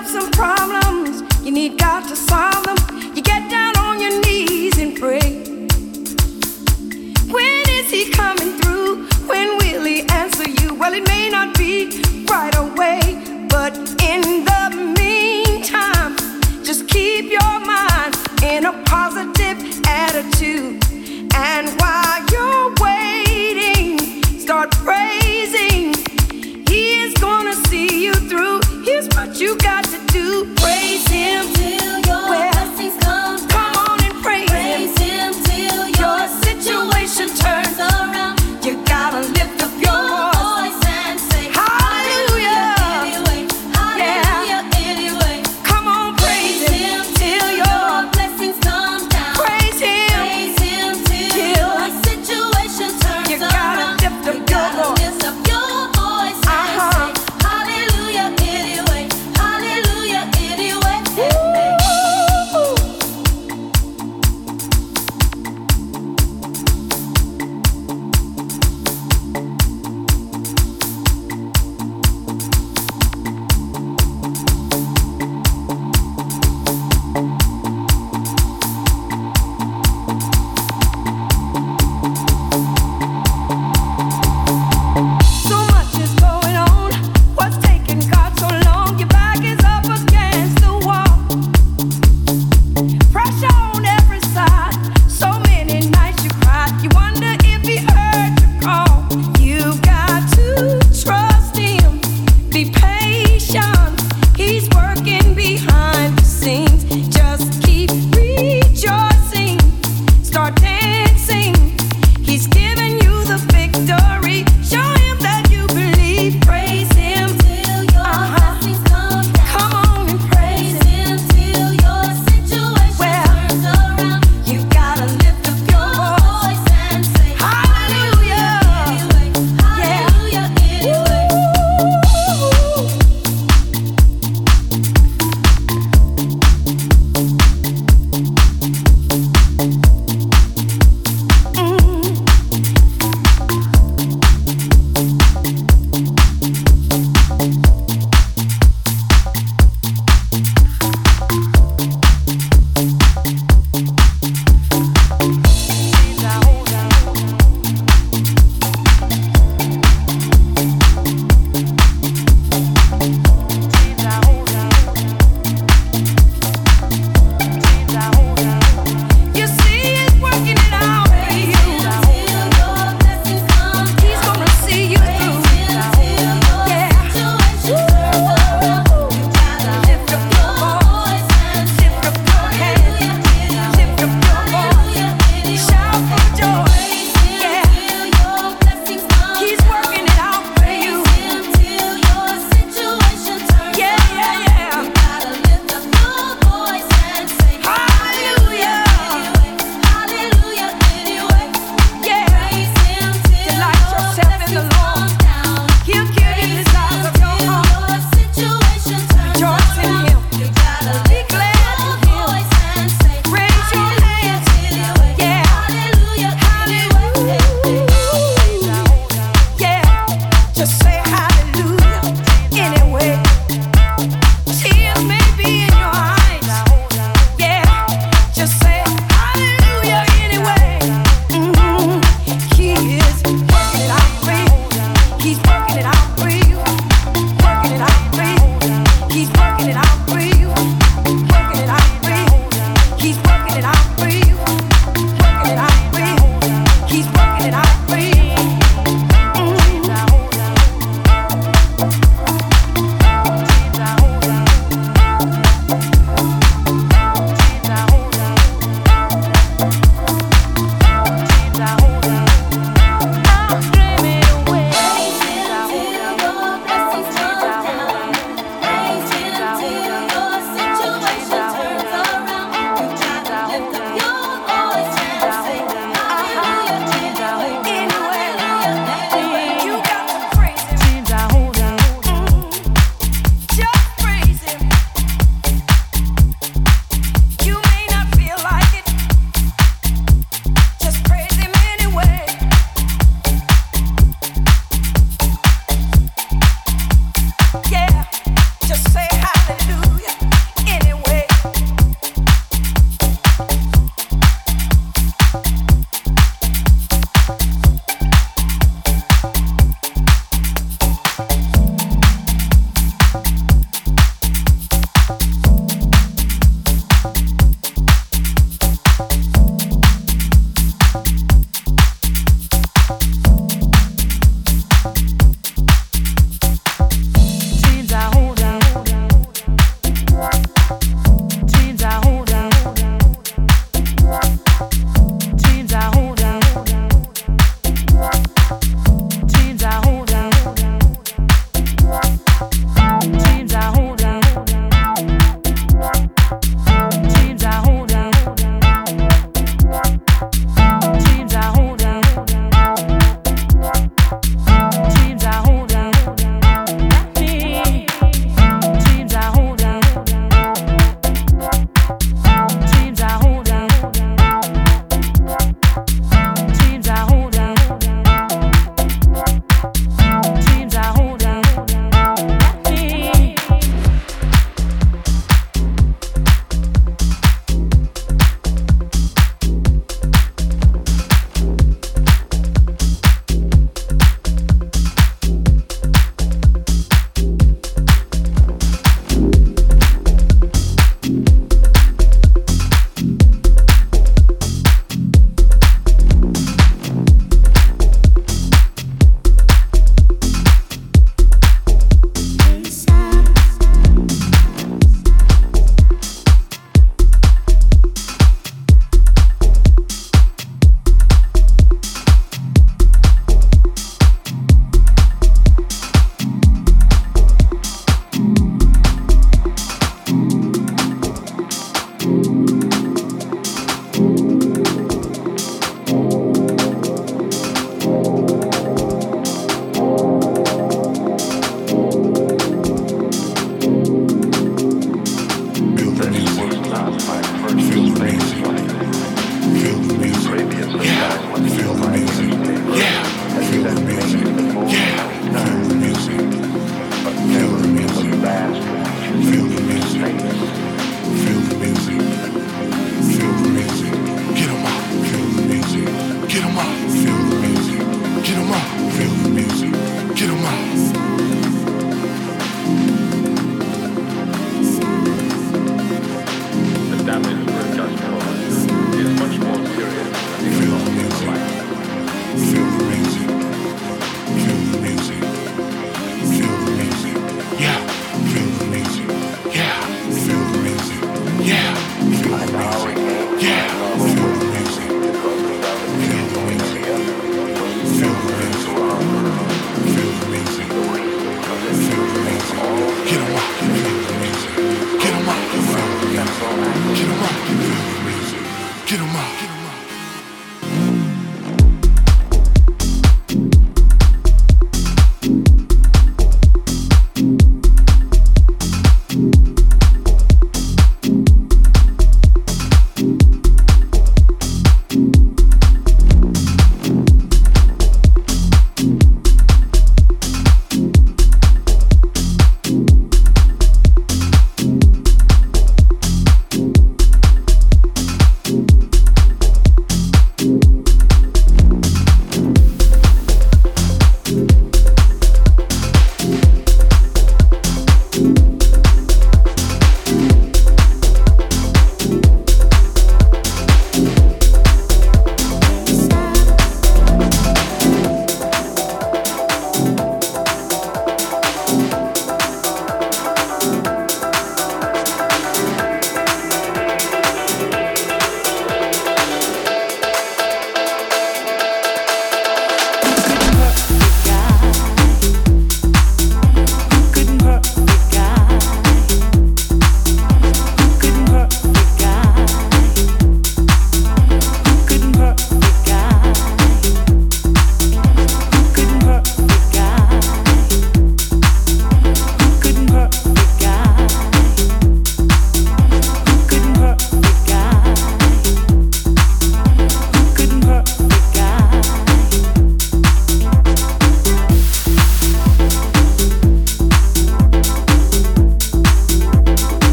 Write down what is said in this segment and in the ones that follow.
have some problems, you need God to solve them. You get down on your knees and pray. When is He coming through? When will He answer you? Well, it may not be right away, but in the meantime, just keep your mind in a positive attitude. And while you're waiting, start praising. He is gonna see you through. Here's what you got to do. Praise Him till your blessings come down. Come on and praise Him till your situation turns around. You gotta lift up your voice and say hallelujah. Anyway, hallelujah, anyway. Come on, praise Him till your blessings come down. Praise Him till your situation turns you gotta around. lift up your voice. Lift up your voice and say hallelujah, anyway, hallelujah, anyway. Ooh.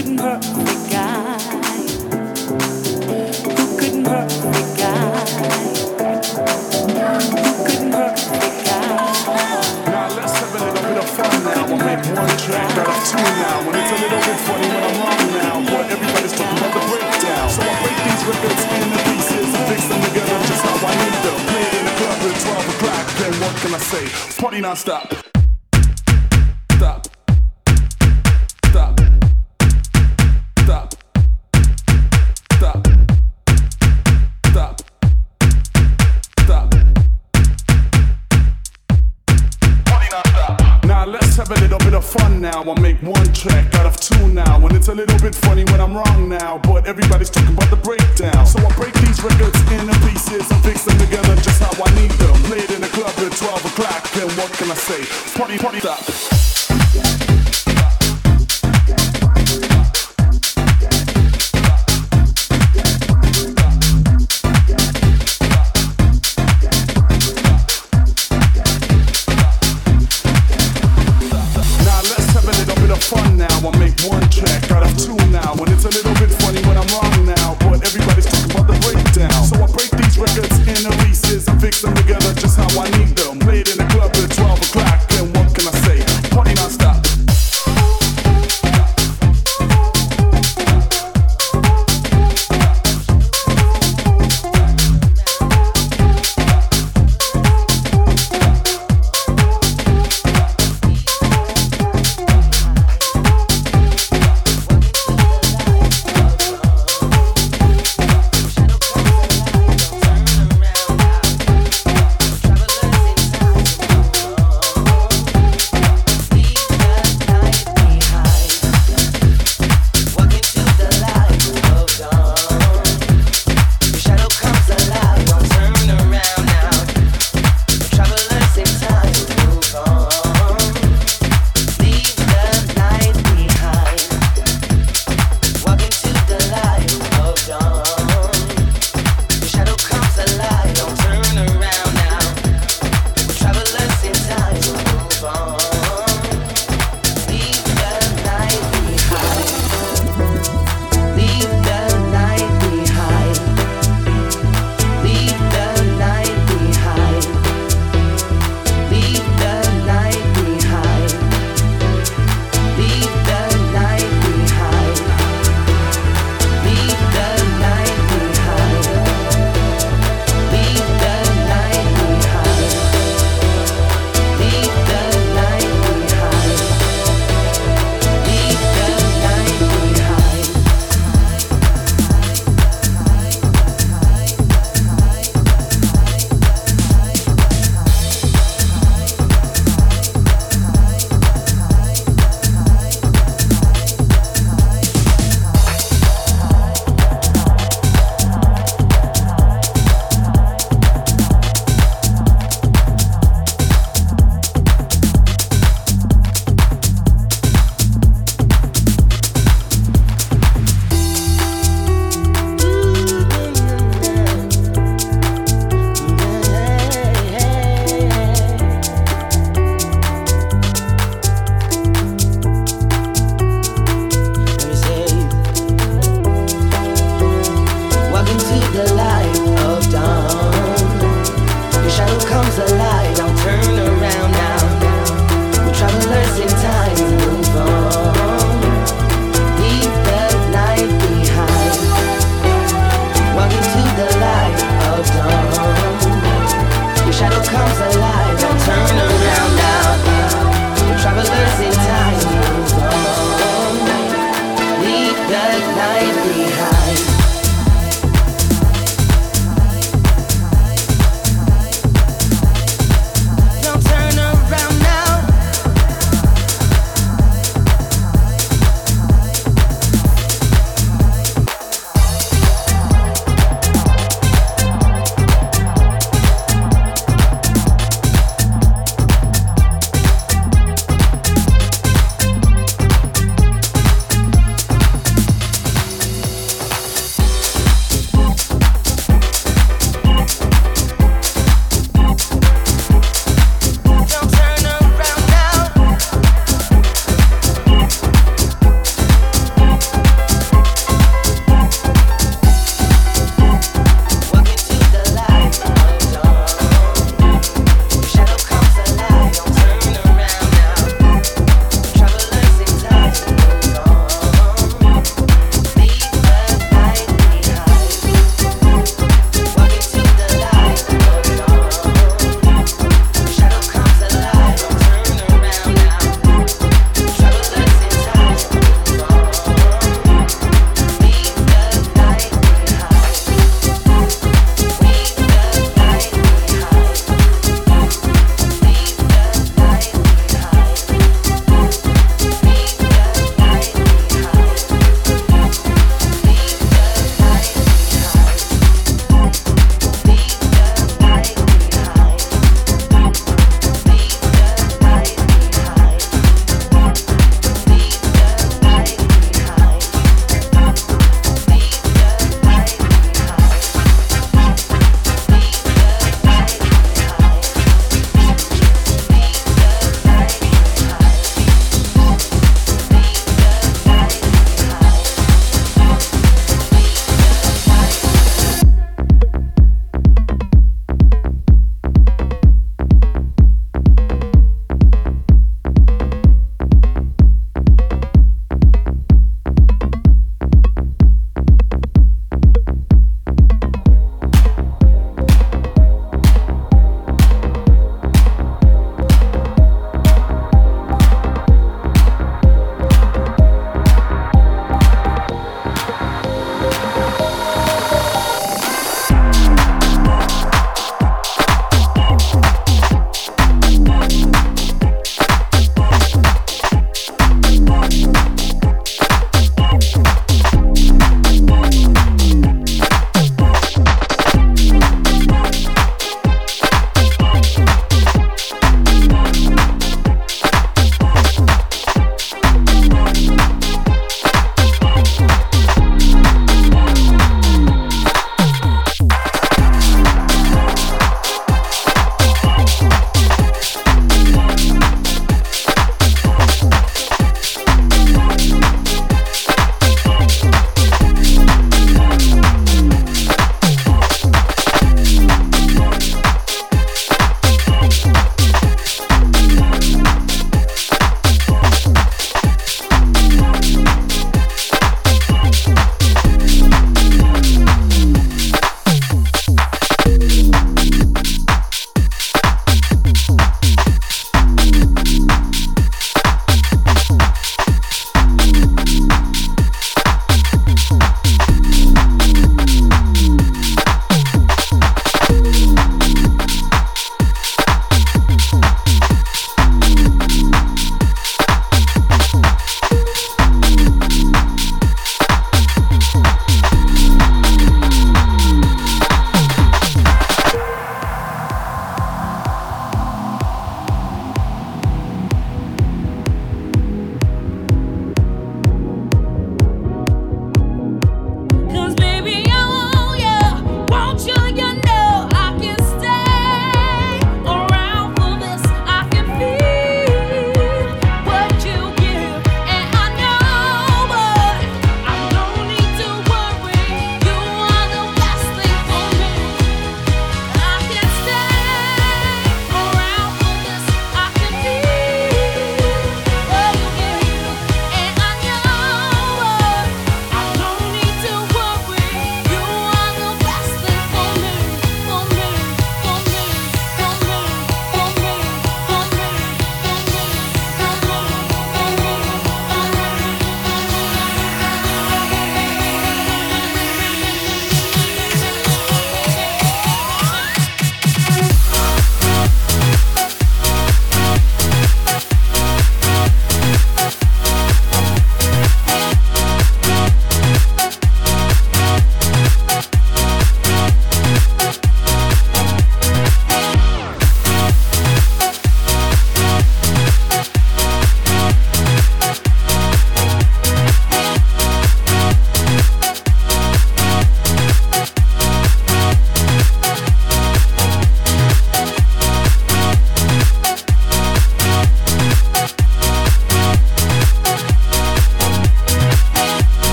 couldn't hurt the guy? Who couldn't hurt the guy? Who couldn't hurt the guy? Now let's have a little bit of fun now. I'll make one track out of two now. And it's a little bit funny when I'm wrong now, but everybody's talking about the breakdown. So I break these records into pieces and fix them together just how I need them. Play it in the club at 12 o'clock, then what can I say? Party non-stop. Stop. Stop. Stop. Stop. Stop. Stop. Party non-stop. Now let's have a little bit of fun now. I'll make one track out of two now. And it's a little bit funny when I'm wrong now, but everybody's talking about the breakdown. So I break these records into pieces and fix them together just how I need them. Play it in the club at 12 o'clock, then what can I say? Party, party, stop. Fun now, I'll make one track out of two now. And it's a little bit funny when I'm wrong now, but everybody's talking about the breakdown. So I break these records into pieces and fix them together just how I need them. Play it in the club at 12 o'clock, and what can I say? Party non-stop.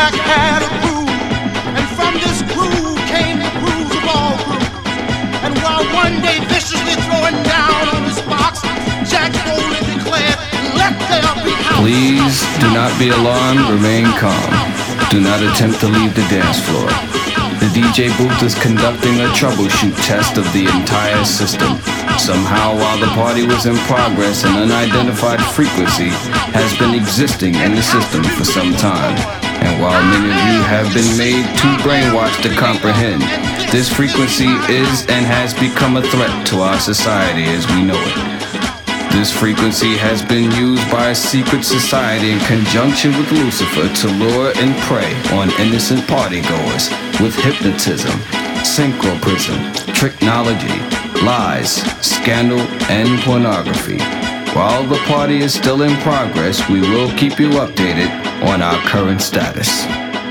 Jack had a groove, and from this groove came the grooves of all grooves. And while one day viciously throwing down on his box, Jack boldly declared, "Let there be house." Please do not be alarmed, remain calm. Do not attempt to leave the dance floor. The DJ booth is conducting a troubleshoot test of the entire system. Somehow, while the party was in progress, an unidentified frequency has been existing in the system for some time. And while many of you have been made too brainwashed to comprehend, this frequency is and has become a threat to our society as we know it. This frequency has been used by a secret society in conjunction with Lucifer to lure and prey on innocent partygoers with hypnotism, synchroprism, tricknology, lies, scandal, and pornography. While the party is still in progress, we will keep you updated on our current status.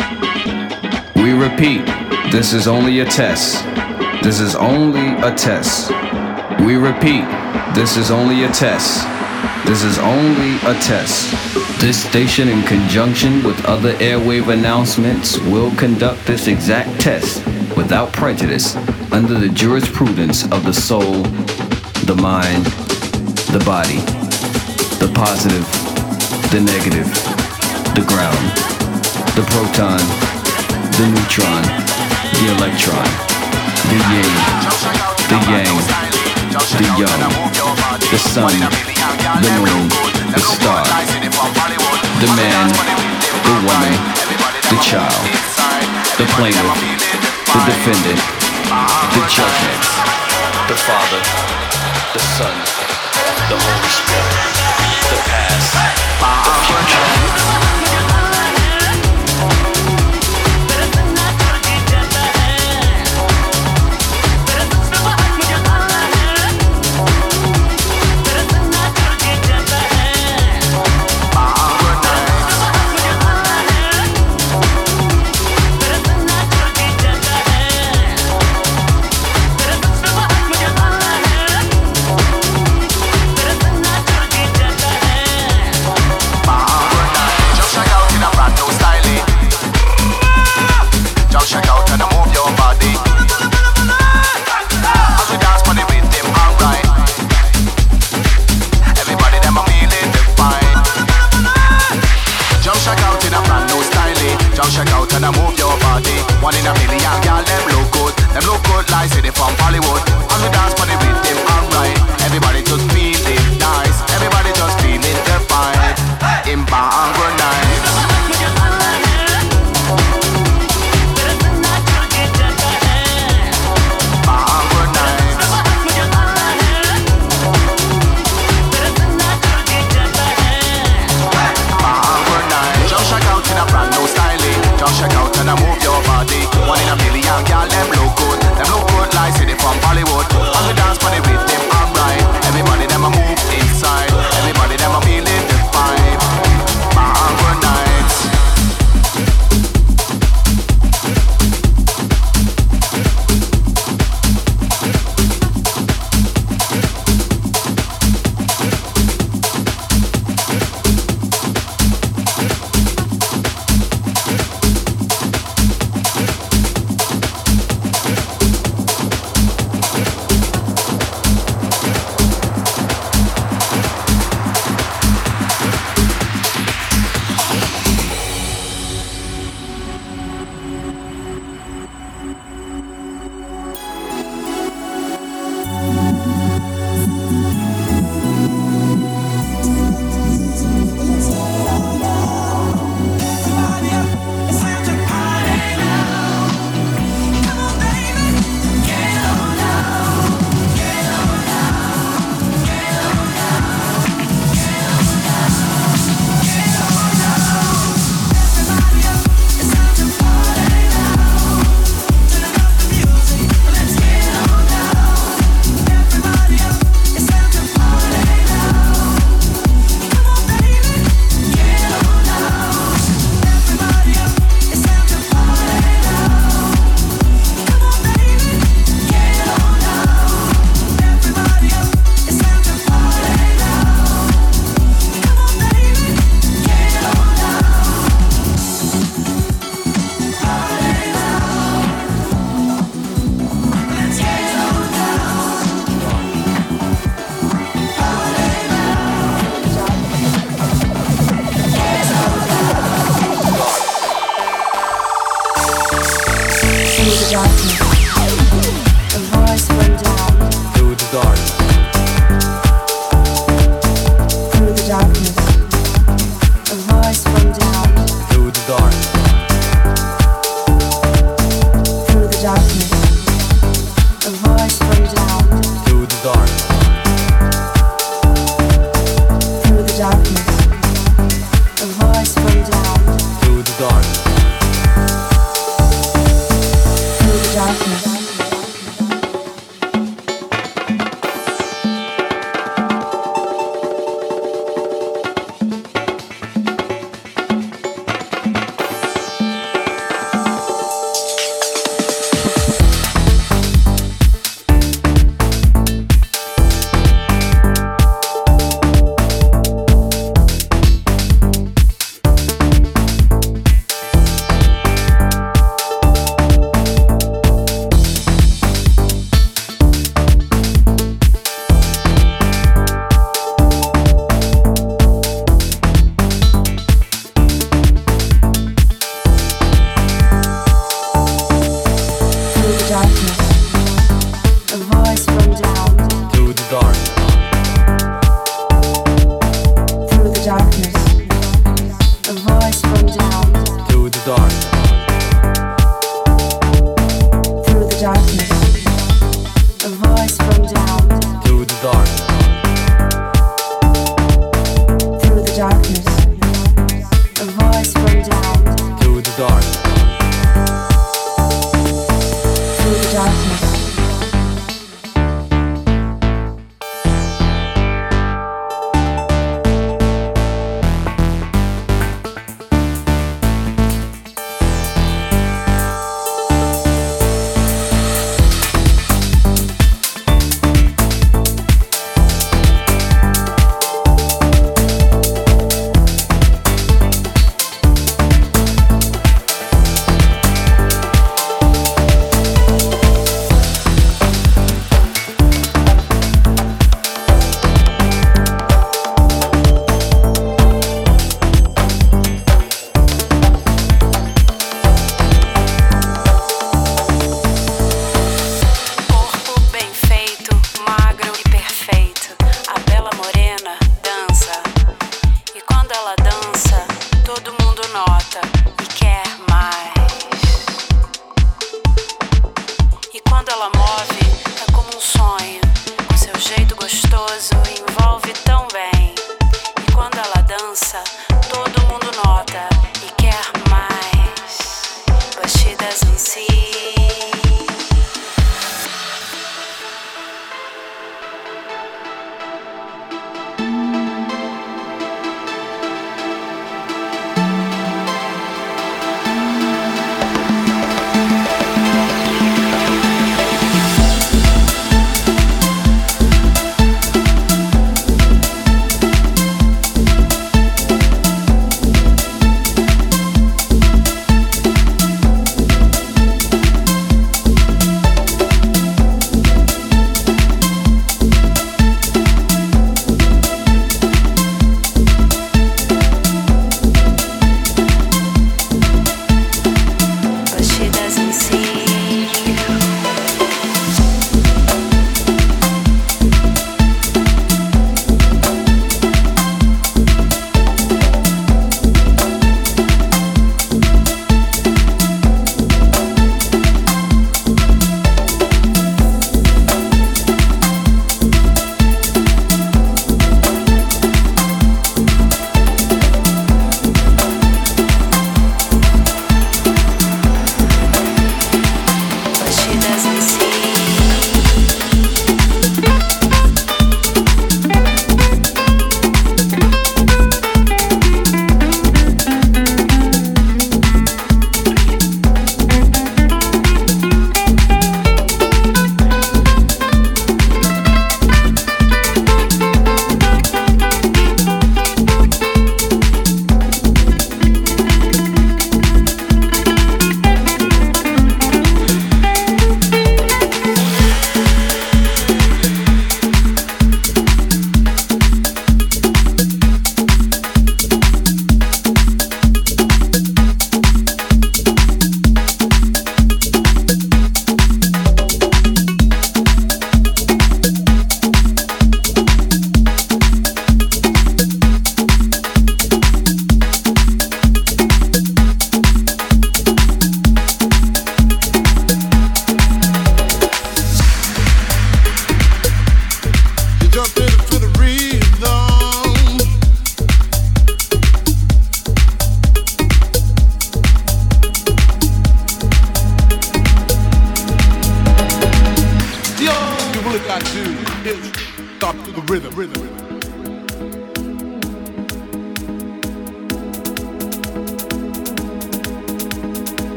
We repeat, this is only a test. This is only a test. We repeat, this is only a test. This is only a test. This station, in conjunction with other airwave announcements, will conduct this exact test without prejudice under the jurisprudence of the soul, the mind, the body, the positive, the negative, the ground, the proton, the neutron, the electron, the yin, the yang, the young, the sun, the moon, the star, the man, the woman, the child, the plaintiff, the defendant, the judgment, the Father, the Son, the Holy Spirit, the past, the future. Check out and I move your body. One in a million, girl, them look good like say they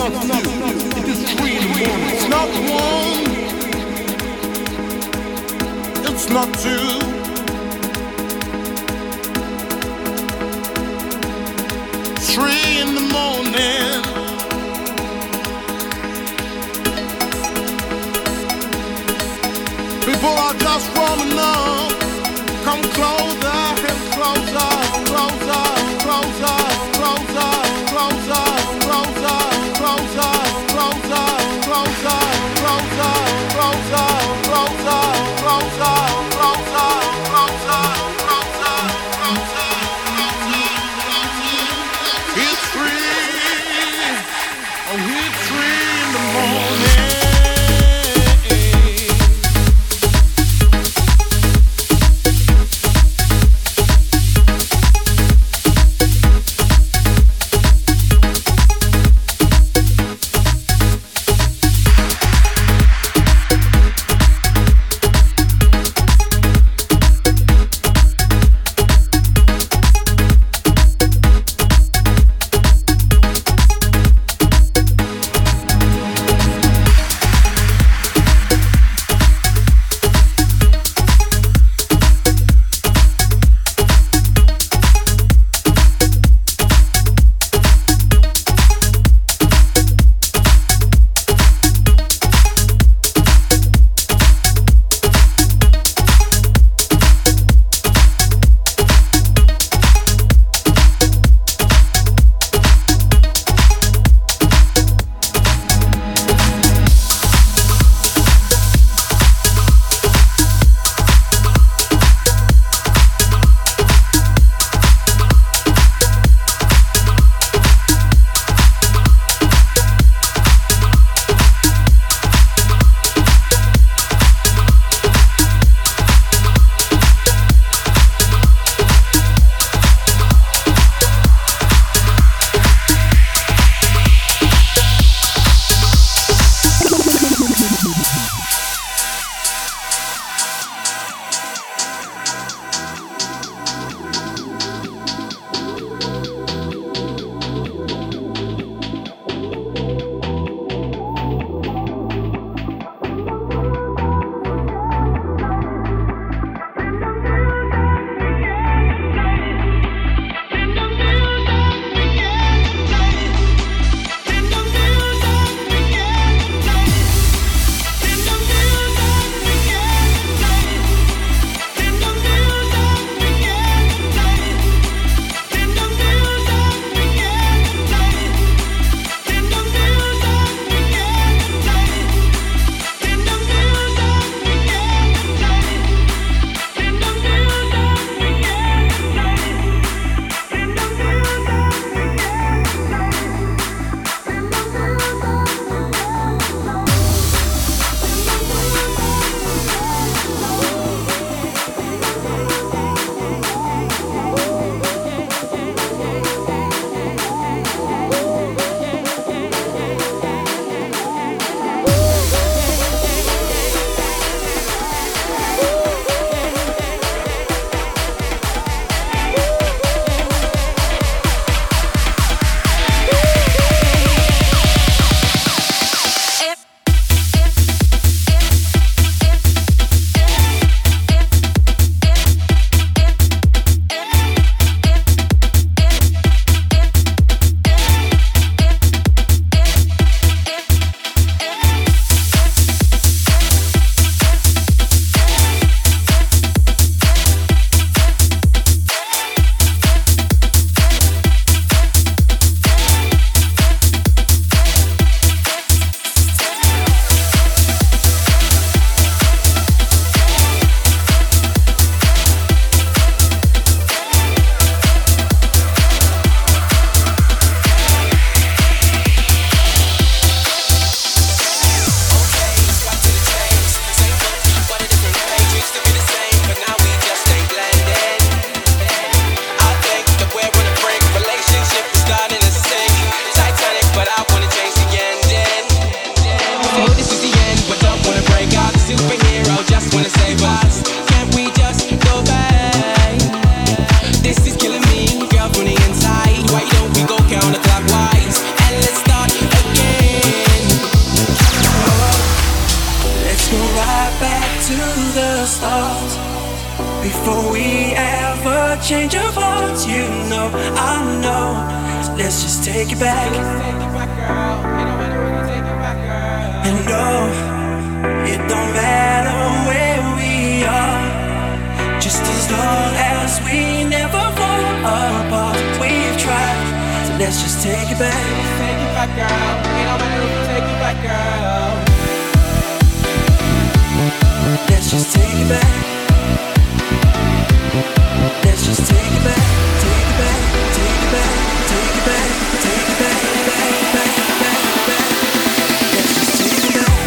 not few. It is 3 in the morning. It's not one. It's not two. Three in the morning. People are just warming up. Come closer and closer, closer, closer, closer, closer, closer, closer, closer, closer, closer, closer, closer, closer, closer, closer, closer, closer. It's 3. Oh, it's 3 in the morning. Before we ever change our hearts, you know, I know. So let's just take it back. And no, it don't matter where we are, just as long as we never fall apart. We've tried, so let's just take it back. Take it back, girl. It don't matter if we take it back, girl. Let's just take it back. Let's just take it back, take it back, take it back, take it back, take it back, back, back, back, back. Let's just take it back.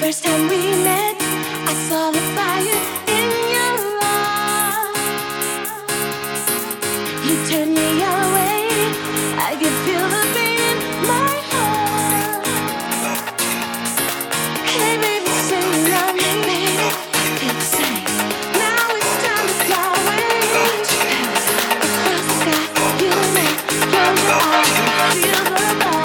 first time we met, I saw the fire in your eyes. You turned me away, I could feel the pain in my heart. Hey baby, say you love me, baby. Feel the same. Now it's time to fly away. Across the sky, you and me, close your eyes and feel the fire.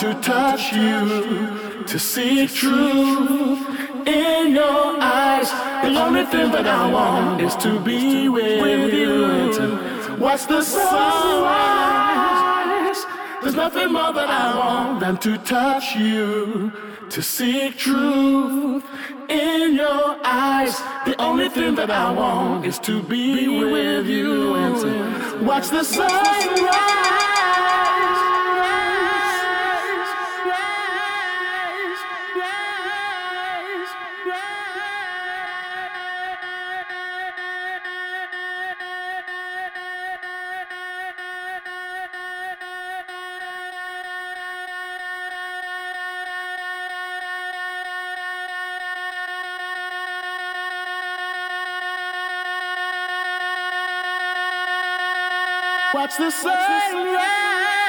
to touch you, to see truth in your eyes. The only thing that I want is to be with you and to watch the sunrise. There's nothing more that I want than to touch you, to see truth in your eyes. The only thing that I want is to be with you and to watch the sunrise. Watch the sunrise.